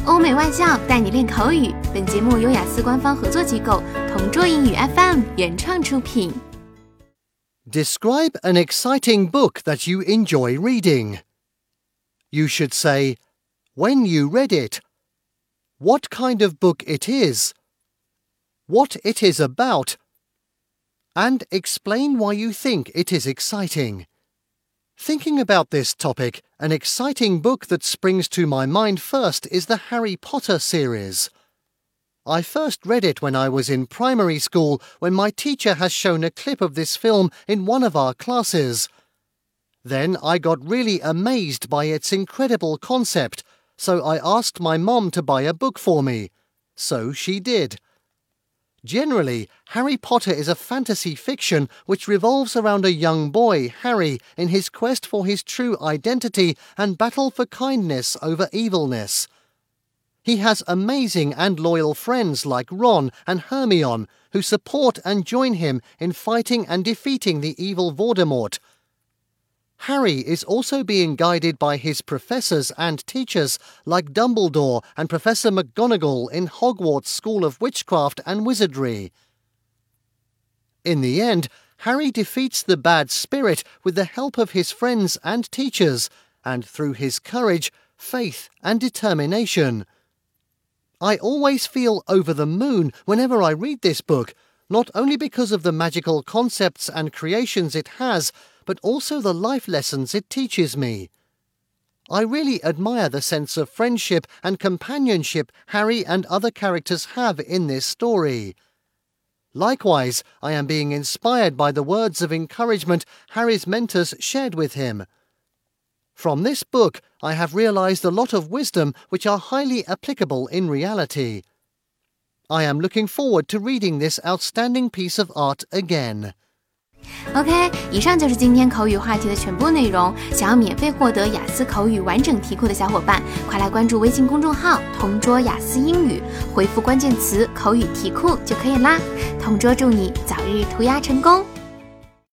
欧美外教带你练口语。本节目由雅思官方合作机构同桌英语 FM 原创出品。 Describe an exciting book that you enjoy reading. You should say, when you read it, what kind of book it is, what it is about, and explain why you think it is exciting. Thinking about this topic, an exciting book that springs to my mind first is the Harry Potter series. I first read it when I was in primary school, when my teacher has shown a clip of this film in one of our classes. Then I got really amazed by its incredible concept, so I asked my mom to buy a book for me. So she did. Generally, Harry Potter is a fantasy fiction which revolves around a young boy, Harry, in his quest for his true identity and battle for kindness over evilness. He has amazing and loyal friends like Ron and Hermione, who support and join him in fighting and defeating the evil Voldemort. Harry is also being guided by his professors and teachers like Dumbledore and Professor McGonagall in Hogwarts School of Witchcraft and Wizardry. In the end, Harry defeats the bad spirit with the help of his friends and teachers, and through his courage, faith, and determination. I always feel over the moon whenever I read this book, not only because of the magical concepts and creations it has, but also the life lessons it teaches me. I really admire the sense of friendship and companionship Harry and other characters have in this story. Likewise, I am being inspired by the words of encouragement Harry's mentors shared with him. From this book, I have realized a lot of wisdom which are highly applicable in reality. I am looking forward to reading this outstanding piece of art again. OK， 以上就是今天口语话题的全部内容。想要免费获得雅思口语完整题库的小伙伴，快来关注微信公众号同桌雅思英语，回复关键词口语题库就可以啦。同桌祝你早日涂鸦成功。